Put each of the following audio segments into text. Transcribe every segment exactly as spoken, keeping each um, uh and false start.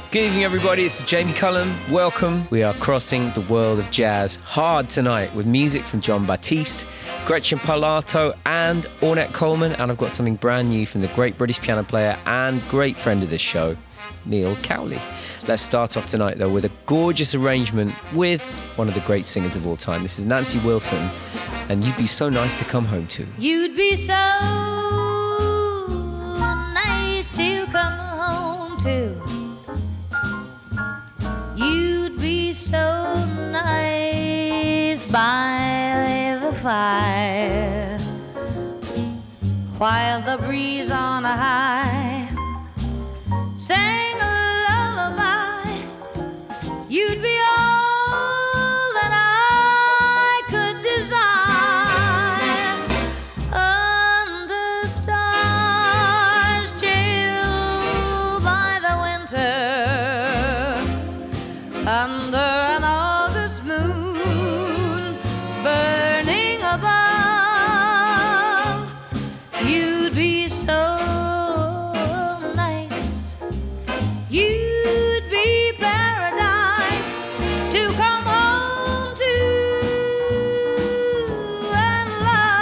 Good evening, everybody. This is Jamie Cullum. Welcome. We are crossing the world of jazz hard tonight with music from Jon Batiste, Gretchen Parlato and Ornette Coleman. And I've got something brand new from the great British piano player and great friend of this show, Neil Cowley. Let's start off tonight, though, with a gorgeous arrangement with one of the great singers of all time. This is Nancy Wilson, and You'd Be So Nice to Come Home To. You'd be so nice to come home to. You'd be so nice by the fire, while the breeze on a high sang a lullaby. You'd be all that I could desire, under stars chilled by the winter, under an August moon burning above. You'd be so nice, you'd be paradise to come home to and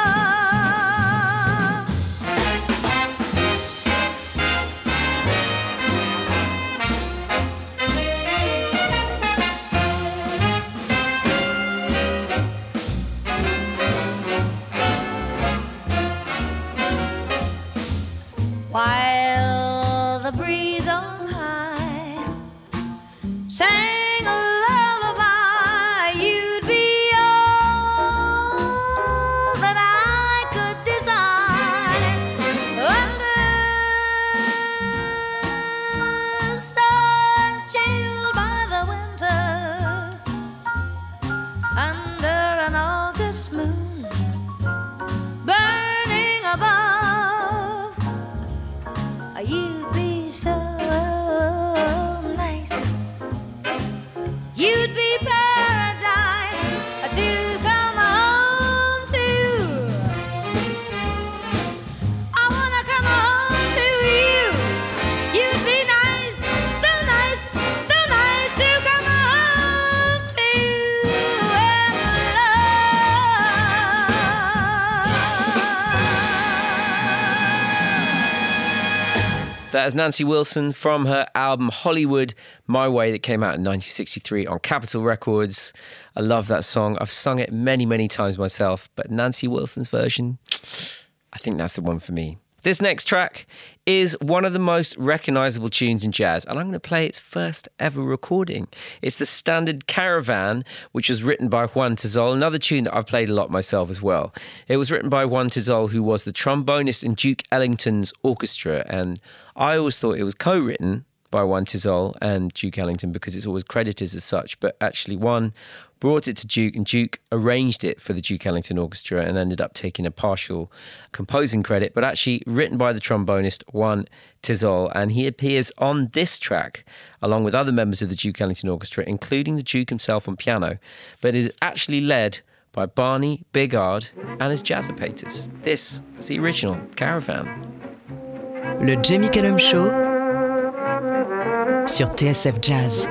love. While the breeze on high sang a lullaby, you'd be all that I could desire, under stars chilled by the winter, under an August moon burning above. You'd be so nice, you'd be paradise to come home to. I wanna come home to you. You'd be nice, so nice, so nice to come home to and love. That is Nancy Wilson from her album Hollywood My Way that came out in nineteen sixty-three on Capitol Records. I love that song. I've sung it many, many times myself, but Nancy Wilson's version, I think that's the one for me. This next track is one of the most recognisable tunes in jazz, and I'm going to play its first ever recording. It's the standard Caravan, which was written by Juan Tizol, another tune that I've played a lot myself as well. It was written by Juan Tizol, who was the trombonist in Duke Ellington's orchestra, and I always thought it was co-written by Juan Tizol and Duke Ellington because it's always credited as such, but actually Juan brought it to Duke, and Duke arranged it for the Duke Ellington Orchestra and ended up taking a partial composing credit, but actually written by the trombonist Juan Tizol, and he appears on this track along with other members of the Duke Ellington Orchestra, including the Duke himself on piano, but is actually led by Barney Bigard and his Jazzopators. This is the original Caravan. Le Jamie Cullum Show sur T S F Jazz.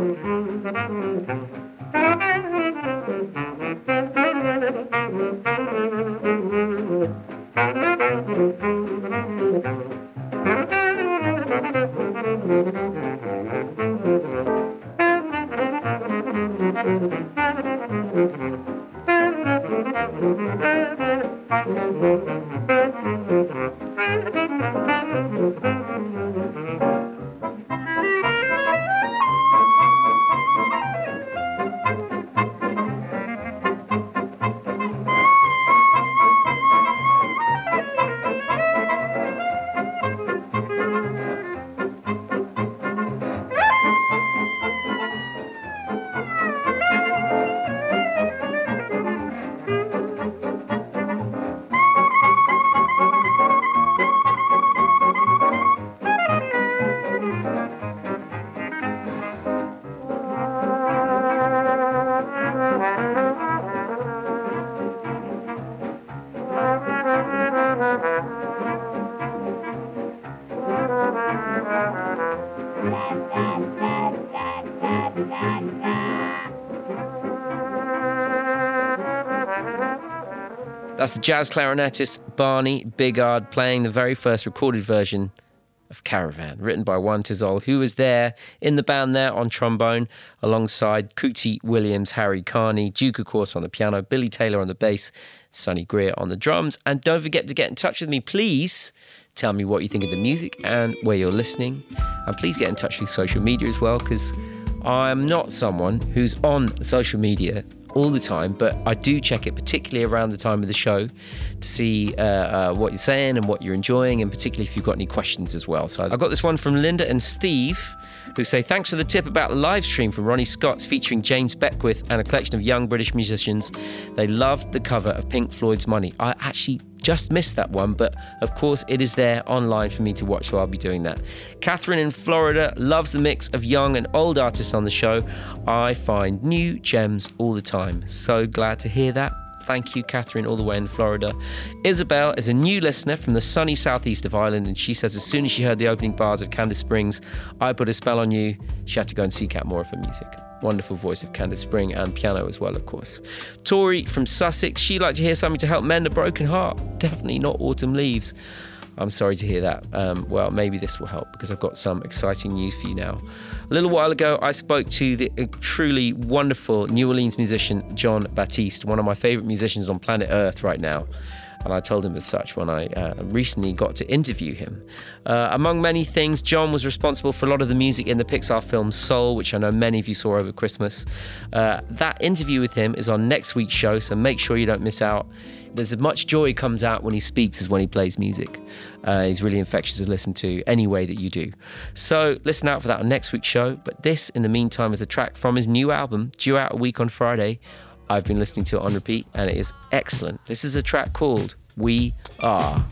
That's the jazz clarinetist Barney Bigard playing the very first recorded version of Caravan, written by Juan Tizol, who was there in the band there on trombone, alongside Cootie Williams, Harry Carney, Duke, of course, on the piano, Billy Taylor on the bass, Sonny Greer on the drums. And don't forget to get in touch with me, please. Tell me what you think of the music and where you're listening. And please get in touch through social media as well, because I'm not someone who's on social media all the time, but I do check it, particularly around the time of the show, to see uh, uh, what you're saying and what you're enjoying, and particularly if you've got any questions as well. So I got this one from Linda and Steve, who say, thanks for the tip about the live stream from Ronnie Scott's featuring James Beckwith and a collection of young British musicians. They loved the cover of Pink Floyd's Money. I actually just missed that one, but of course it is there online for me to watch, so I'll be doing that. Catherine in Florida loves the mix of young and old artists on the show. I find new gems all the time. So glad to hear that. Thank you, Catherine, all the way in Florida. Isabel is a new listener from the sunny southeast of Ireland, and she says as soon as she heard the opening bars of Candice Springs, I Put a Spell on You, she had to go and seek out more of her music. Wonderful voice of Candice Spring, and piano as well, of course. Tori from Sussex, she'd like to hear something to help mend a broken heart. Definitely not Autumn Leaves. I'm sorry to hear that. Um, well, maybe this will help, because I've got some exciting news for you now. A little while ago, I spoke to the truly wonderful New Orleans musician, Jon Batiste, one of my favourite musicians on planet Earth right now. And I told him as such when I uh, recently got to interview him. Uh, among many things, Jon was responsible for a lot of the music in the Pixar film Soul, which I know many of you saw over Christmas. Uh, that interview with him is on next week's show, so make sure you don't miss out. There's as much joy comes out when he speaks as when he plays music. Uh, he's really infectious to listen to any way that you do. So listen out for that on next week's show. But this, in the meantime, is a track from his new album, due out a week on Friday. I've been listening to it on repeat, and it is excellent. This is a track called We Are.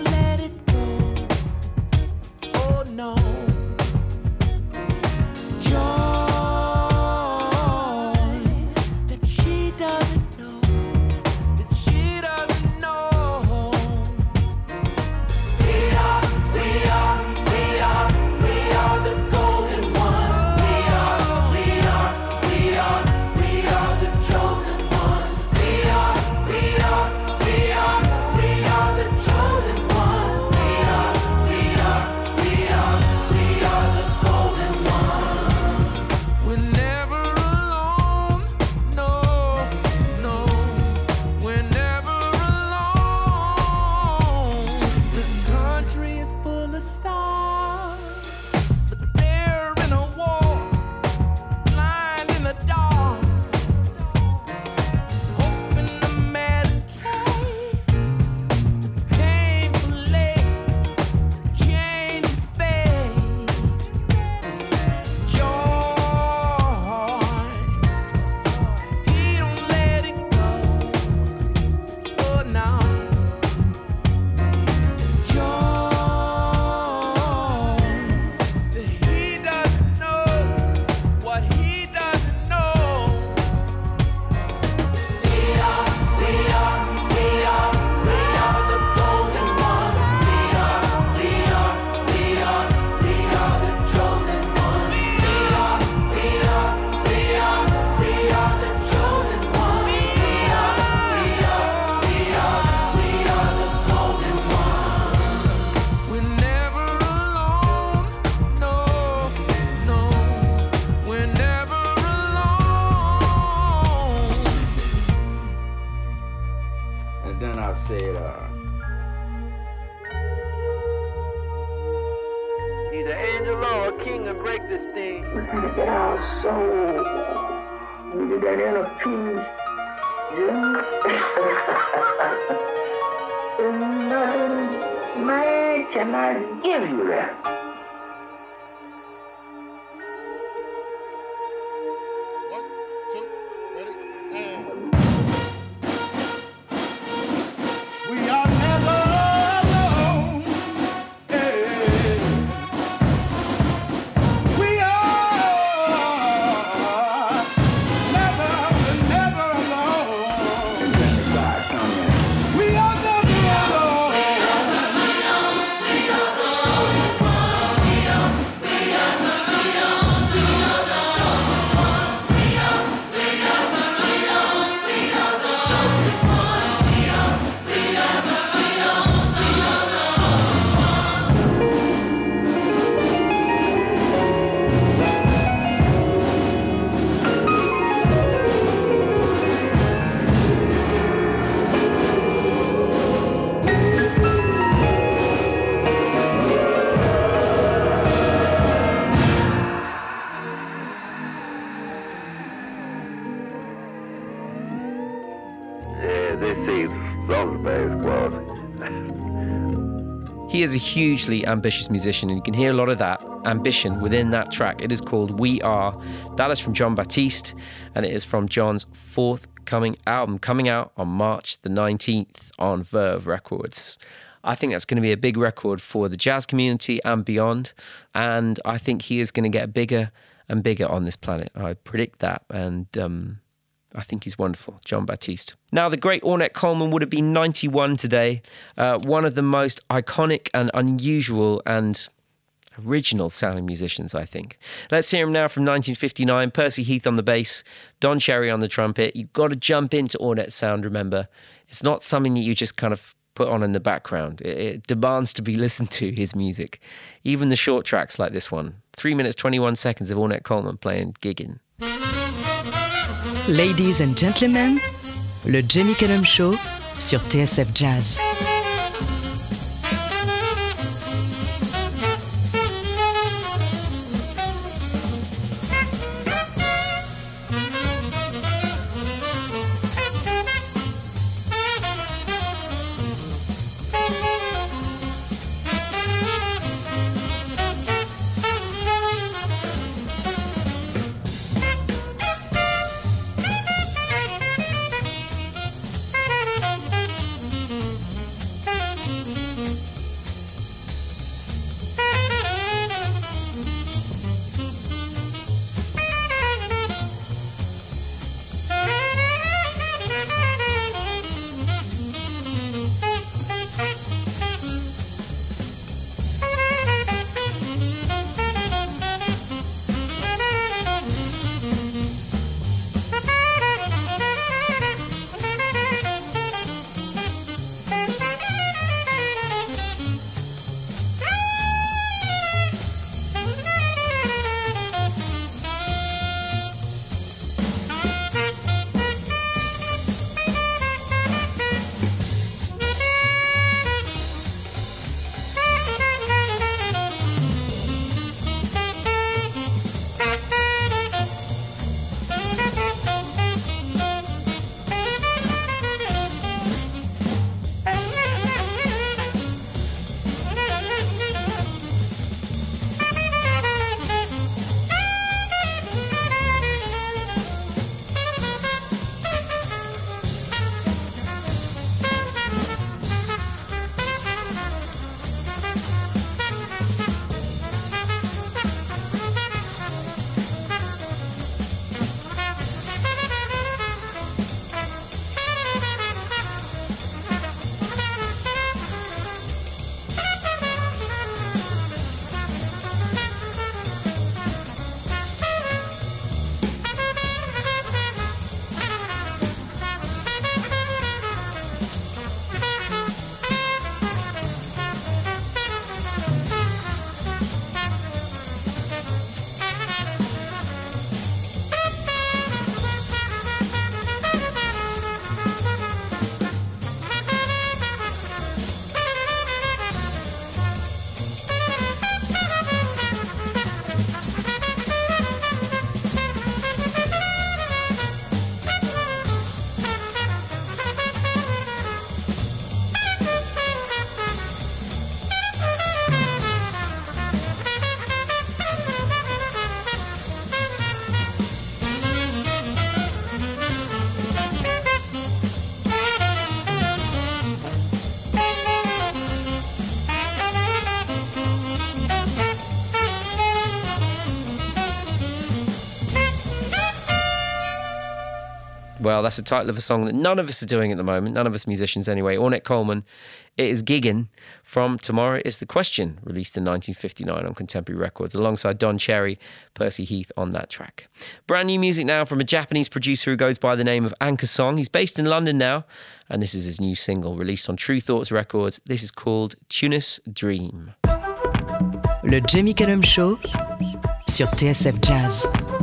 You're the angel Lord, king, and break this thing. We're trying to get our soul into that inner peace. Yeah. And nothing man cannot give you that. One, two, ready, and we are never alone. Hey. We are never, never alone. And then the God come in. We are never alone. Yeah, they say Salzburg was. He is a hugely ambitious musician, and you can hear a lot of that ambition within that track. It is called We Are. That is from Jon Batiste, and it is from Jon's forthcoming album, coming out on March the nineteenth on Verve Records. I think that's going to be a big record for the jazz community and beyond, and I think he is going to get bigger and bigger on this planet. I predict that, and um, I think he's wonderful, Jon Batiste. Now, the great Ornette Coleman would have been ninety-one today, uh, one of the most iconic and unusual and original sounding musicians, I think. Let's hear him now from nineteen fifty-nine, Percy Heath on the bass, Don Cherry on the trumpet. You've got to jump into Ornette's sound, remember. It's not something that you just kind of put on in the background. It, it demands to be listened to, his music. Even the short tracks like this one. three minutes, twenty-one seconds of Ornette Coleman playing Giggin'. Ladies and gentlemen, le Jamie Cullum Show sur T S F Jazz. Well, that's the title of a song that none of us are doing at the moment, none of us musicians anyway. Ornette Coleman, It Is Giggin' from Tomorrow Is the Question, released in nineteen fifty-nine on Contemporary Records, alongside Don Cherry, Percy Heath on that track. Brand new music now from a Japanese producer who goes by the name of Anchor Song. He's based in London now, and this is his new single released on True Thoughts Records. This is called Tunis Dream. Le Jamie Cullum Show sur T S F Jazz.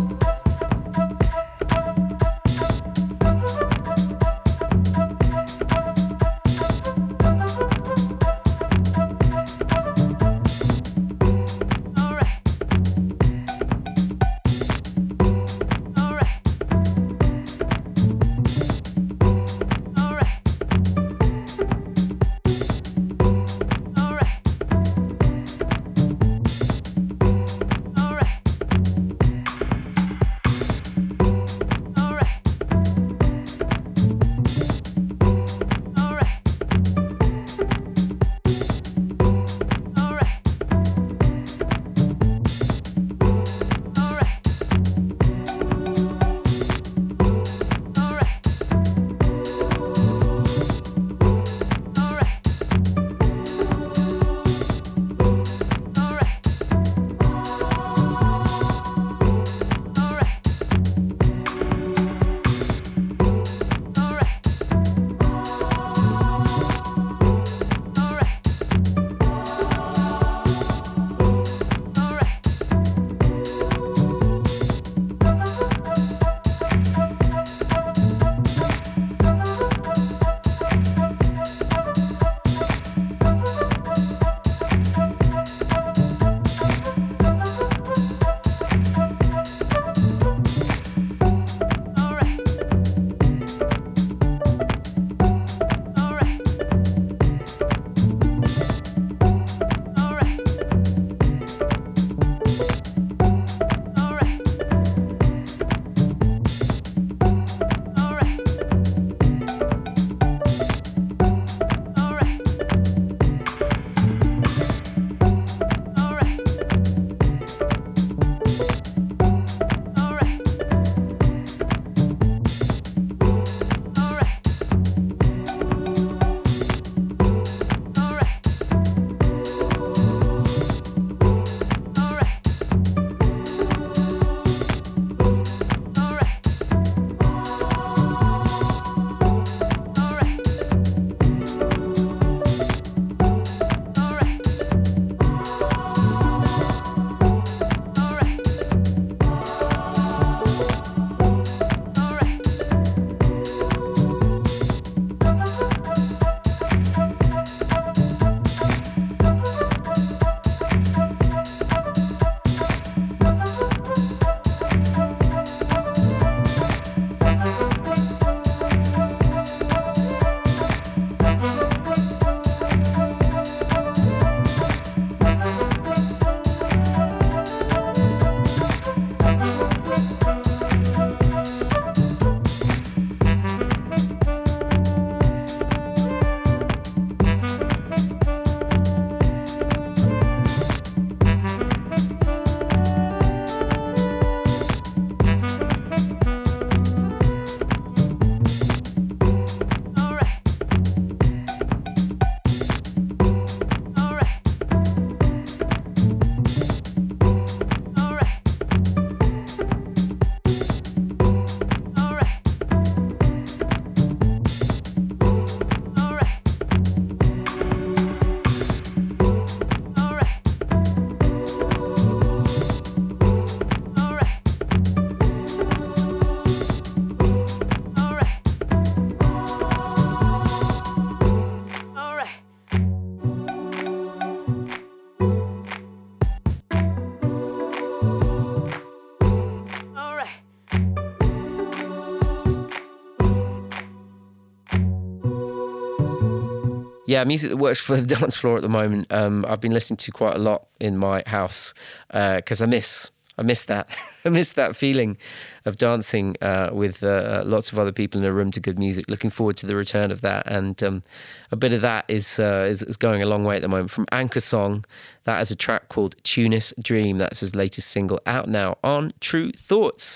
Yeah, music that works for the dance floor at the moment. Um, I've been listening to quite a lot in my house because uh, I miss, I miss that, I miss that feeling of dancing uh, with uh, lots of other people in a room to good music. Looking forward to the return of that, and um, a bit of that is, uh, is is going a long way at the moment. From Anchor Song, that is a track called Tunis Dream. That's his latest single, out now on True Thoughts.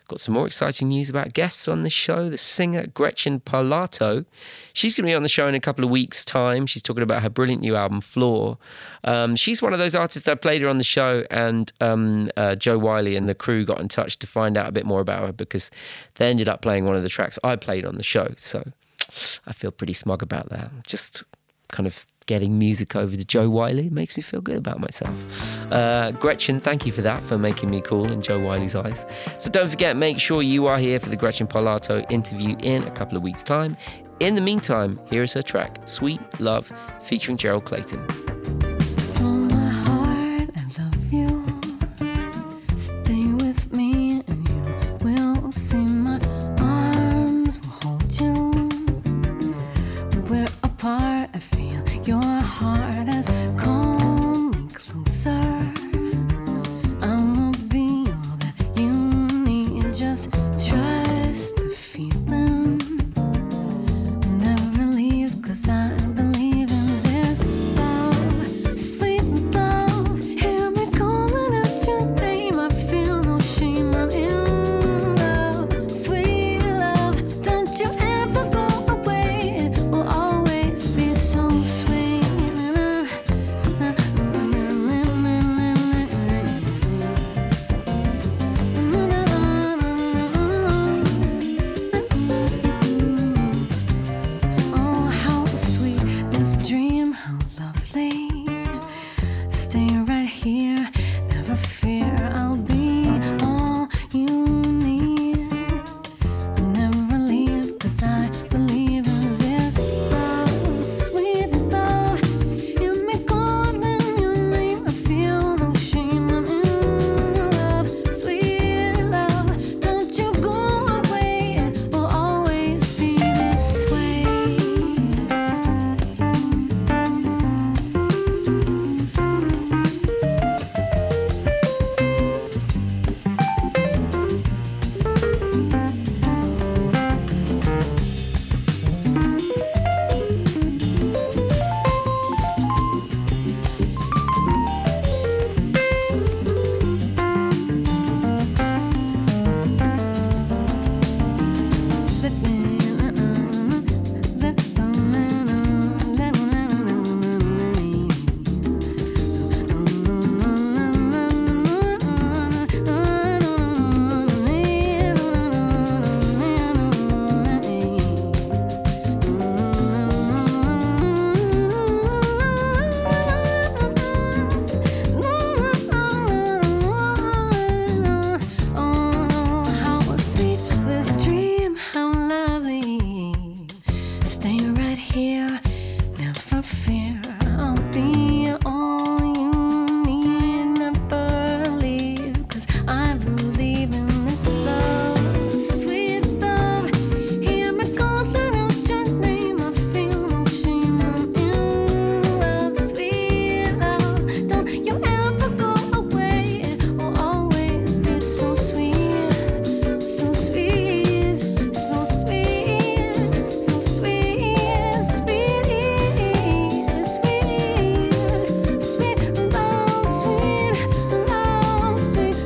Got some more exciting news about guests on the show. The singer Gretchen Parlato. She's going to be on the show in a couple of weeks' time. She's talking about her brilliant new album, Floor. Um, she's one of those artists that played her on the show, and um, uh, Joe Wiley and the crew got in touch to find out a bit more about her because they ended up playing one of the tracks I played on the show. So I feel pretty smug about that. Just kind of getting music over to Joe Wiley makes me feel good about myself. Uh, Gretchen, thank you for that, for making me cool in Joe Wiley's eyes. So don't forget, make sure you are here for the Gretchen Parlato interview in a couple of weeks' time. In the meantime, here is her track, Sweet Love, featuring Gerald Clayton. From my heart, I love you. Stay with me and you will see my arms will hold you. We're apart, I feel your heart has called me closer. I will be all that you need. Just trust the feeling. Never leave, 'cause I believe in this love. Sweet love, hear me calling out your name. I feel no shame, I'm in love. Sweet love, don't you ever go away. It will always be so sweet. Oh, how sweet this dream, how lovely. Stay right here, never fear, I'll be all you need. Never leave, 'cause I believe in this love. Sweet love, hear me calling your name. I feel no shame, I'm in love. Sweet love, don't you go away. It will always be this way. Oh, how sweet this dream, how lovely. Stay right here, never fear, I'll be all you need. Never leave, 'cause I believe in this love. Sweet love, hear me calling out your name. I feel no shame, I'm in love. Sweet love, don't you ever go away. It will always be so sweet, so sweet, so sweet, so sweet, sweet, sweet, sweet love, sweet love, sweet,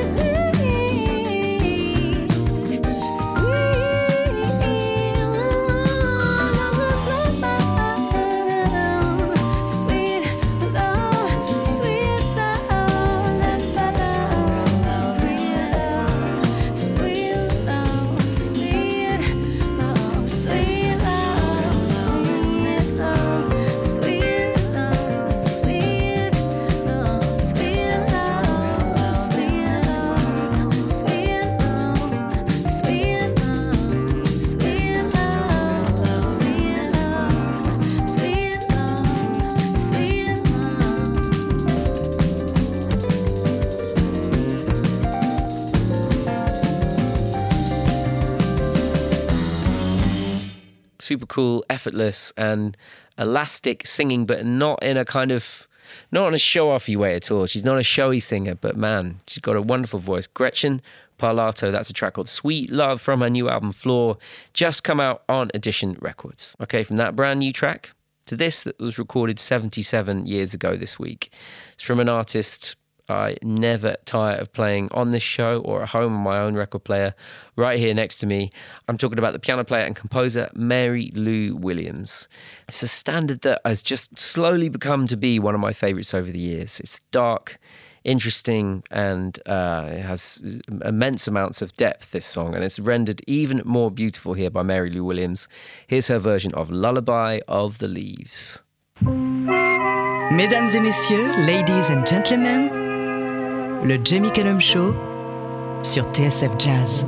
sweet love, sweet love, let's love, sweet love, sweet love, sweet love, sweet love, sweet love, sweet love, sweet love, sweet love, sweet love, sweet love, sweet love, sweet love, sweet love, sweet love, sweet love. Super cool, effortless, and elastic singing, but not in a kind of, not in a show-offy way at all. She's not a showy singer, but man, she's got a wonderful voice. Gretchen Parlato, that's a track called Sweet Love from her new album Floor, just come out on Edition Records. Okay, from that brand new track to this that was recorded seventy-seven years ago this week. It's from an artist I never tire of playing on this show or at home on my own record player. Right here next to me, I'm talking about the piano player and composer Mary Lou Williams. It's a standard that has just slowly become to be one of my favourites over the years. It's dark, interesting, and uh, it has immense amounts of depth, this song, and it's rendered even more beautiful here by Mary Lou Williams. Here's her version of Lullaby of the Leaves. Mesdames et messieurs, ladies and gentlemen, le Jamie Cullum Show sur T S F Jazz.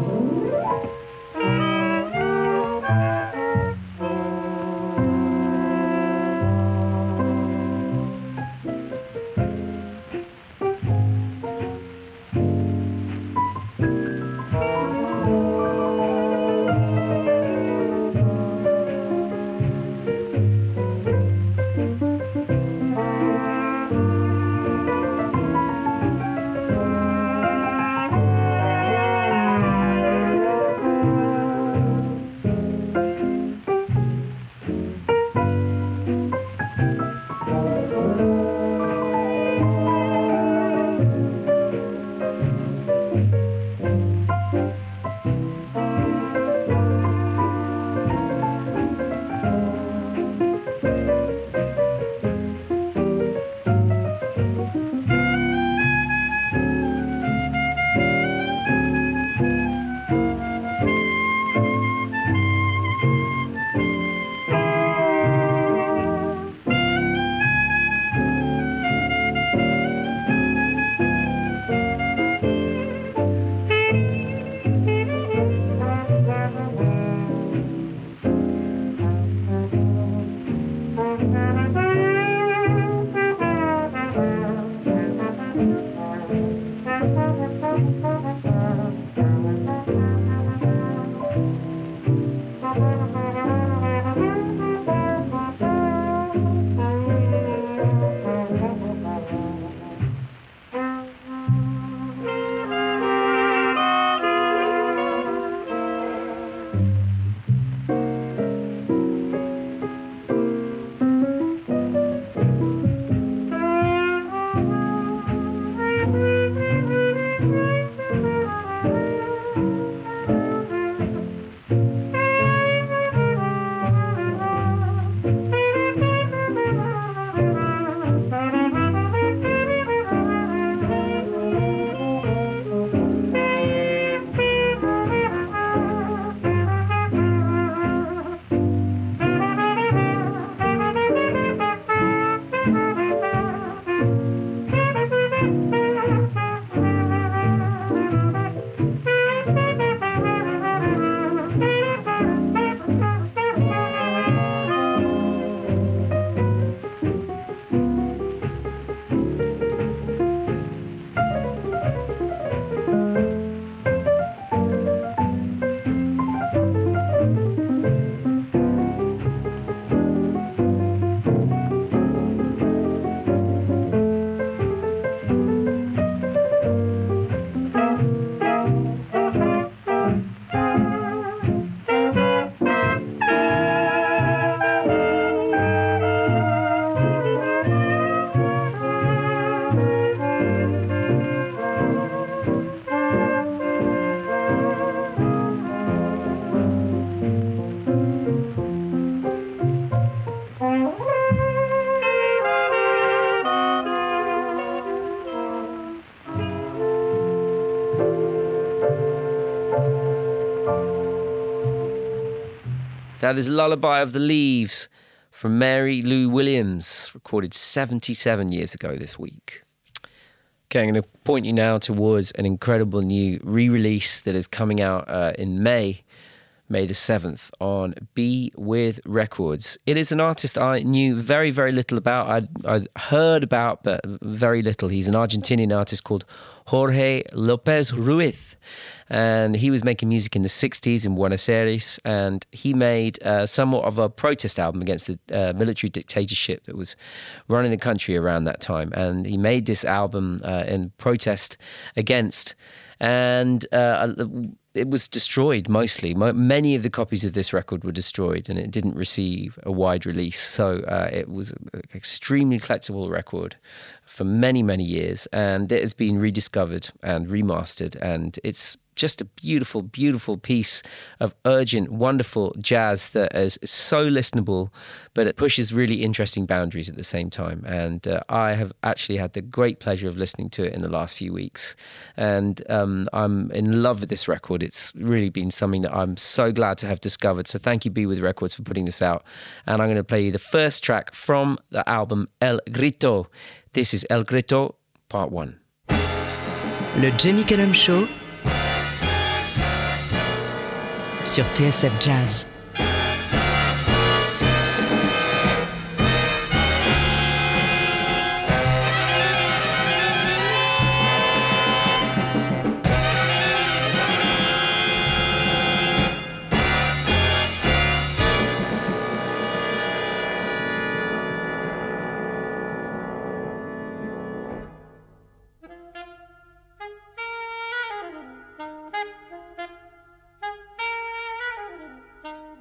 That is Lullaby of the Leaves from Mary Lou Williams, recorded seventy-seven years ago this week. Okay, I'm going to point you now towards an incredible new re-release that is coming out uh, in May, May the seventh, on Be With Records. It is an artist I knew very, very little about. I'd, I'd heard about, but very little. He's an Argentinian artist called Jorge Lopez Ruiz, and he was making music in the sixties in Buenos Aires, and he made uh, somewhat of a protest album against the uh, military dictatorship that was running the country around that time. And he made this album uh, in protest against, and uh, it was destroyed mostly. Mo- many of the copies of this record were destroyed, and it didn't receive a wide release. So uh, it was an extremely collectible record for many, many years, and it has been rediscovered and remastered, and it's just a beautiful, beautiful piece of urgent, wonderful jazz that is so listenable, but it pushes really interesting boundaries at the same time. And uh, I have actually had the great pleasure of listening to it in the last few weeks. And um, I'm in love with this record. It's really been something that I'm so glad to have discovered. So thank you, Be With Records, for putting this out. And I'm going to play you the first track from the album El Grito. This is El Grito, Part one. Le Jamie Cullum Show sur T S F Jazz. Thank you.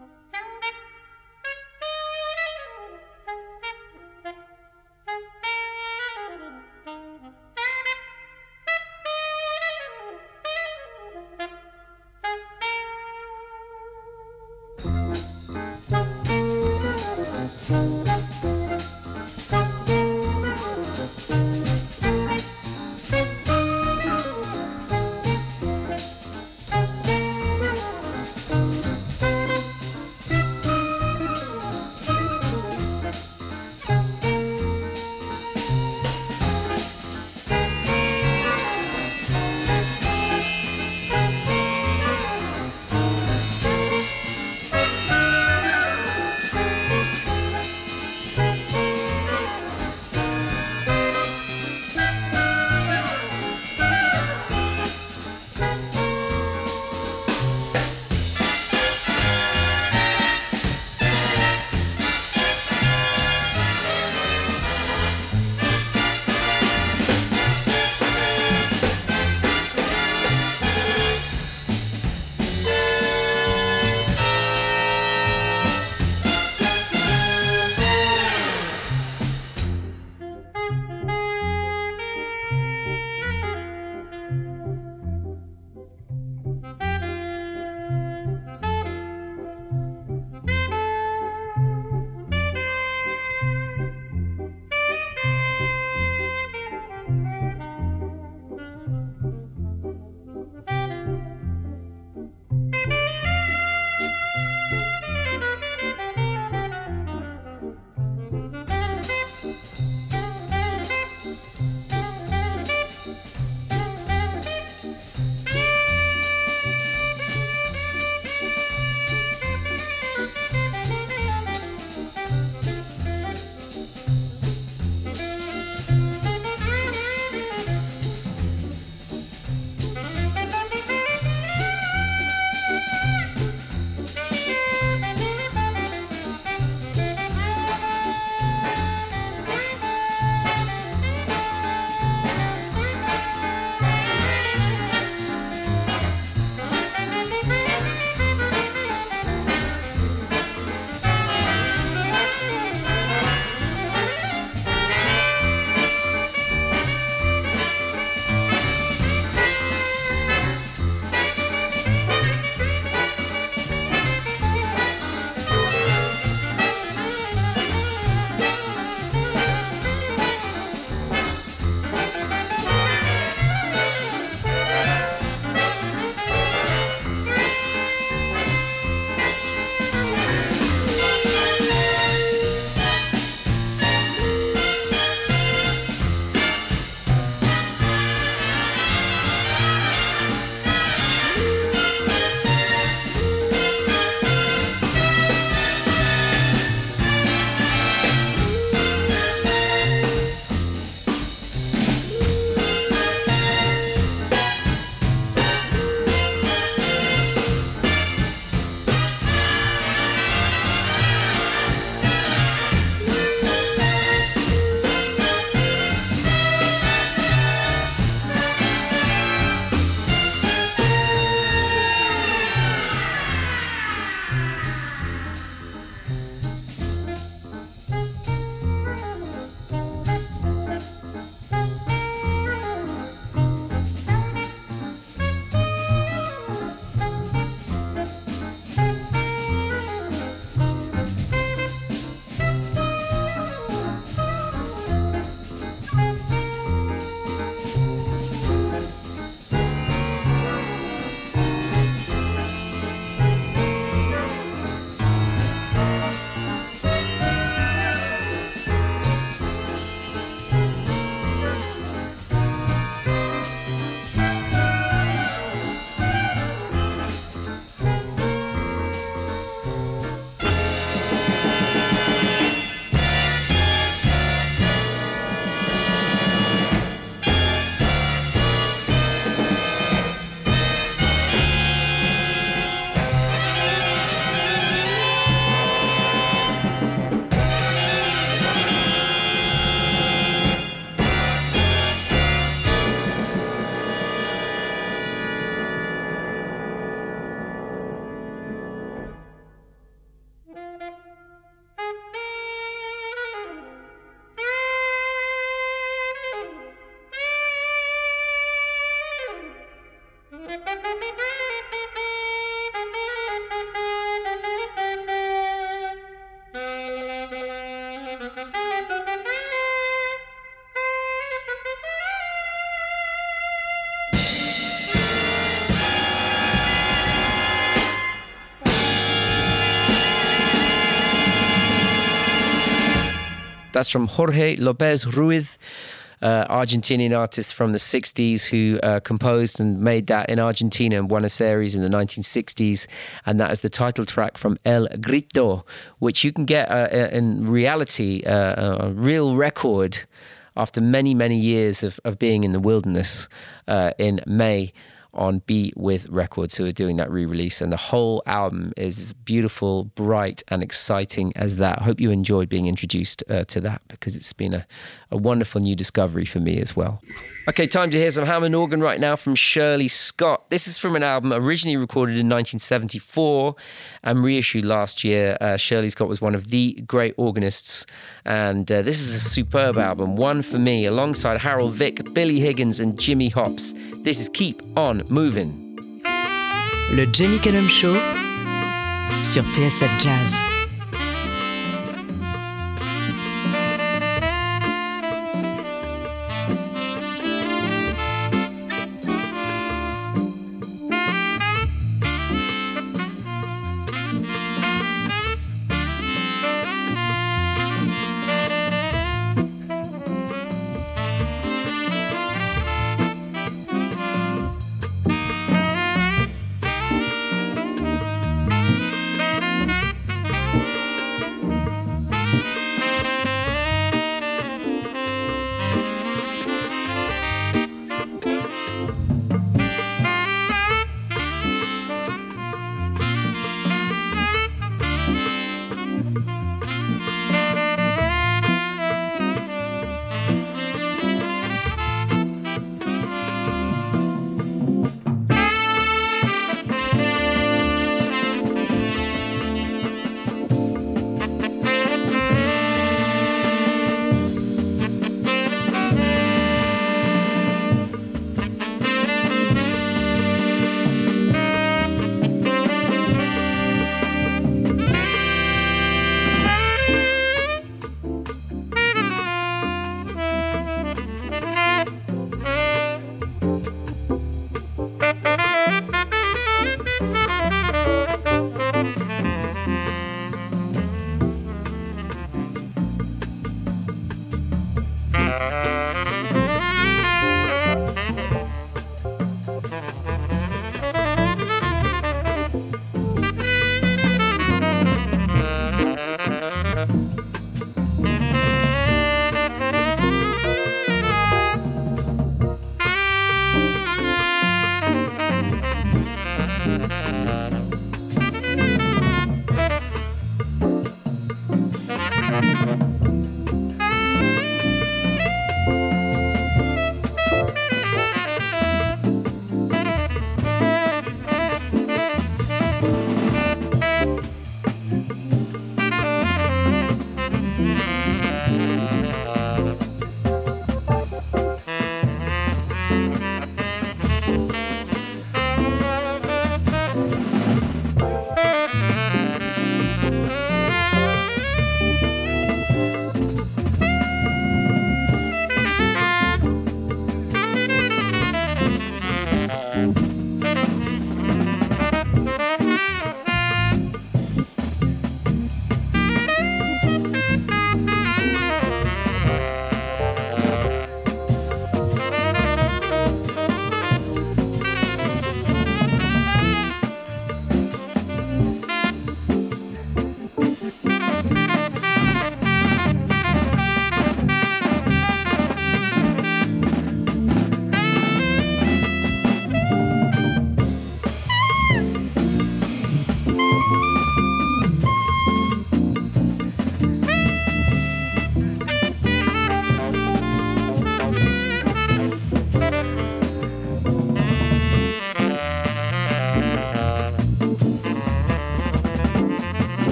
That's from Jorge Lopez Ruiz, uh, Argentinian artist from the sixties who uh, composed and made that in Argentina and Buenos Aires in the nineteen sixties. And that is the title track from El Grito, which you can get uh, in reality, uh, a real record after many, many years of, of being in the wilderness uh, in May on Be With Records, who are doing that re-release. And the whole album is as beautiful, bright and exciting as that. I hope you enjoyed being introduced uh, to that, because it's been a, a wonderful new discovery for me as well. Okay, time to hear some Hammond organ right now from Shirley Scott. This is from an album originally recorded in nineteen seventy-four and reissued last year. Uh, Shirley Scott was one of the great organists, and uh, this is a superb album, one for me, alongside Harold Vick, Billy Higgins and Jimmy Hops. This is Keep On Moving. Le Jamie Cullum Show sur T S F Jazz.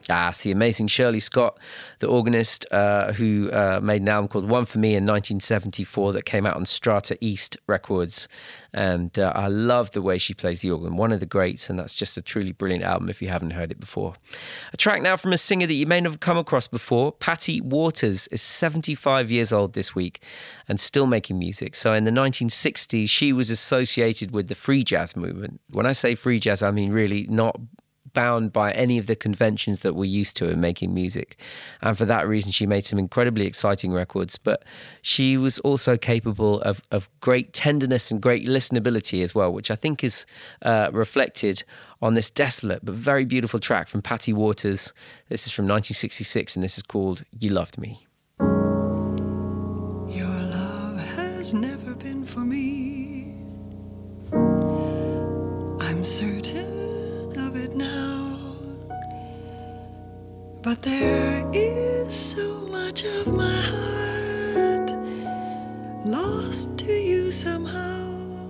Ah, it's the amazing Shirley Scott, the organist uh, who uh, made an album called One For Me in nineteen seventy-four that came out on Strata East Records. And uh, I love the way she plays the organ, one of the greats, and that's just a truly brilliant album if you haven't heard it before. A track now from a singer that you may not have come across before. Patty Waters is seventy-five years old this week and still making music. So in the nineteen sixties, she was associated with the free jazz movement. When I say free jazz, I mean really not bound by any of the conventions that we're used to in making music. And for that reason, she made some incredibly exciting records, but she was also capable of, of great tenderness and great listenability as well, which I think is uh, reflected on this desolate but very beautiful track from Patty Waters. This is from nineteen sixty-six, and this is called You Loved Me. Your love has never been for me. I'm certain of it now, but there is so much of my heart lost to you somehow.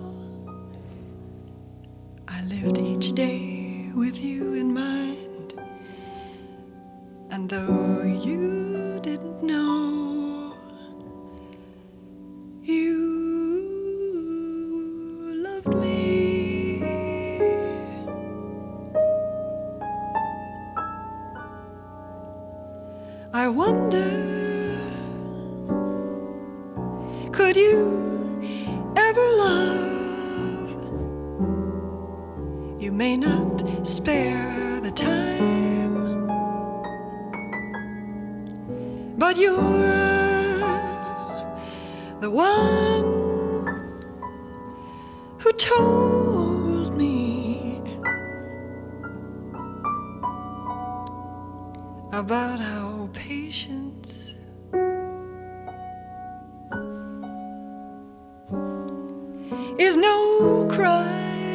I lived each day with you in mind, and though you didn't know, you loved me. I wonder, could you ever love? You may not spare the time, but you're the one who told me about how patience is no crime.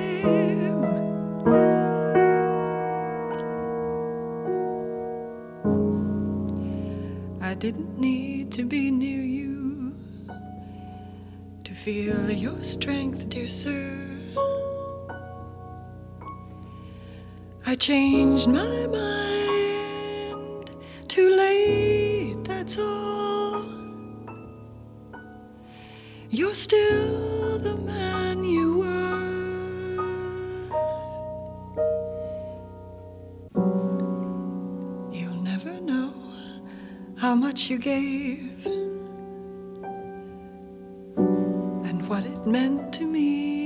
I didn't need to be near you to feel your strength, dear sir. I changed my mind too late, that's all. You're still the man you were. You'll never know how much you gave and what it meant to me.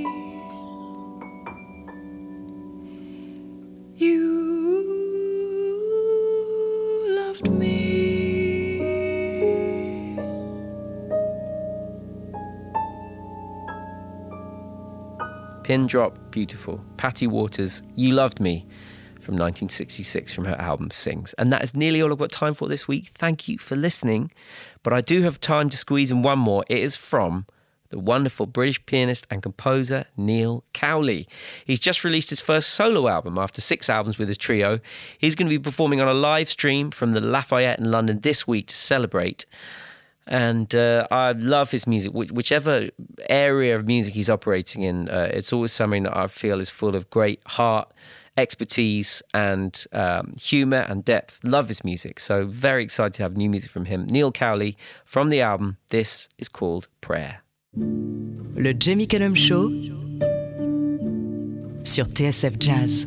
You loved me. Pin drop, beautiful. Patty Waters, You Loved Me, from nineteen sixty-six, from her album Sings. And that is nearly all I've got time for this week. Thank you for listening. But I do have time to squeeze in one more. It is from the wonderful British pianist and composer Neil Cowley. He's just released his first solo album after six albums with his trio. He's going to be performing on a live stream from the Lafayette in London this week to celebrate. And uh, I love his music. Wh- whichever area of music he's operating in, uh, it's always something that I feel is full of great heart, expertise and um, humour and depth. Love his music. So very excited to have new music from him. Neil Cowley from the album. This is called Prayer. Le Jamie Cullum Show sur T S F Jazz.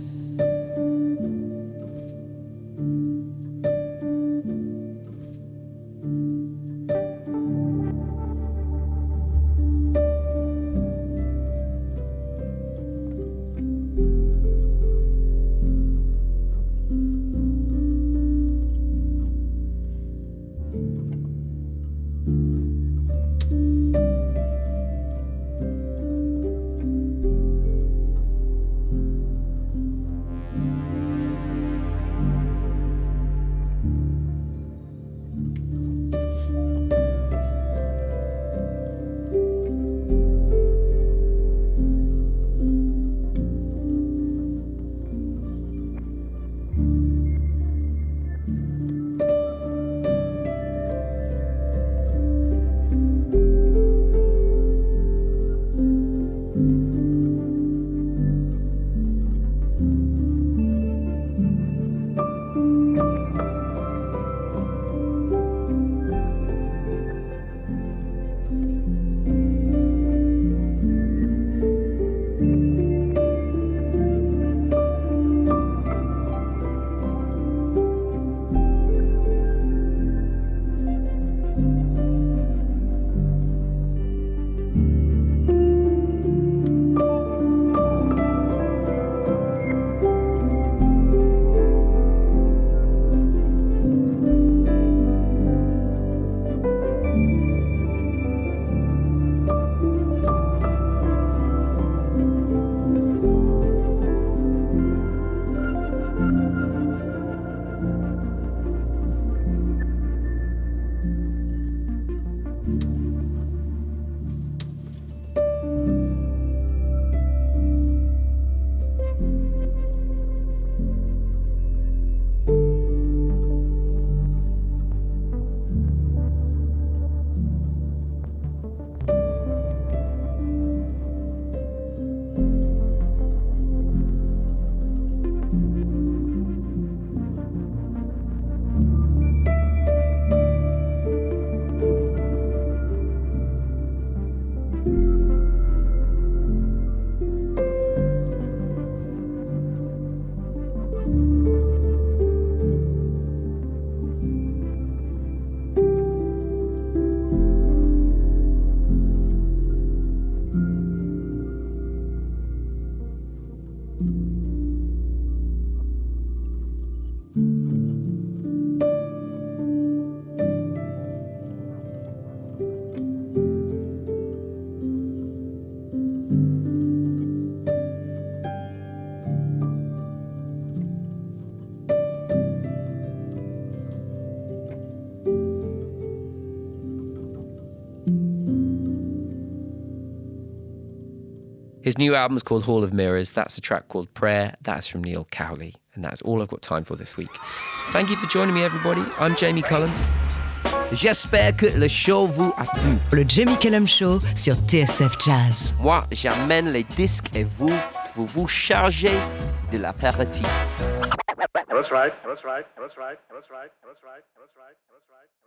His new album is called Hall of Mirrors. That's a track called Prayer. That's from Neil Cowley. And that's all I've got time for this week. Thank you for joining me, everybody. I'm Jamie Cullen. J'espère que le show vous a plu. Le Jamie Cullum Show sur T S F Jazz. Moi, j'amène les disques et vous, vous vous chargez de l'apéritif. That's right. That's right. That's right. That's right. That's right. That's right. That's right.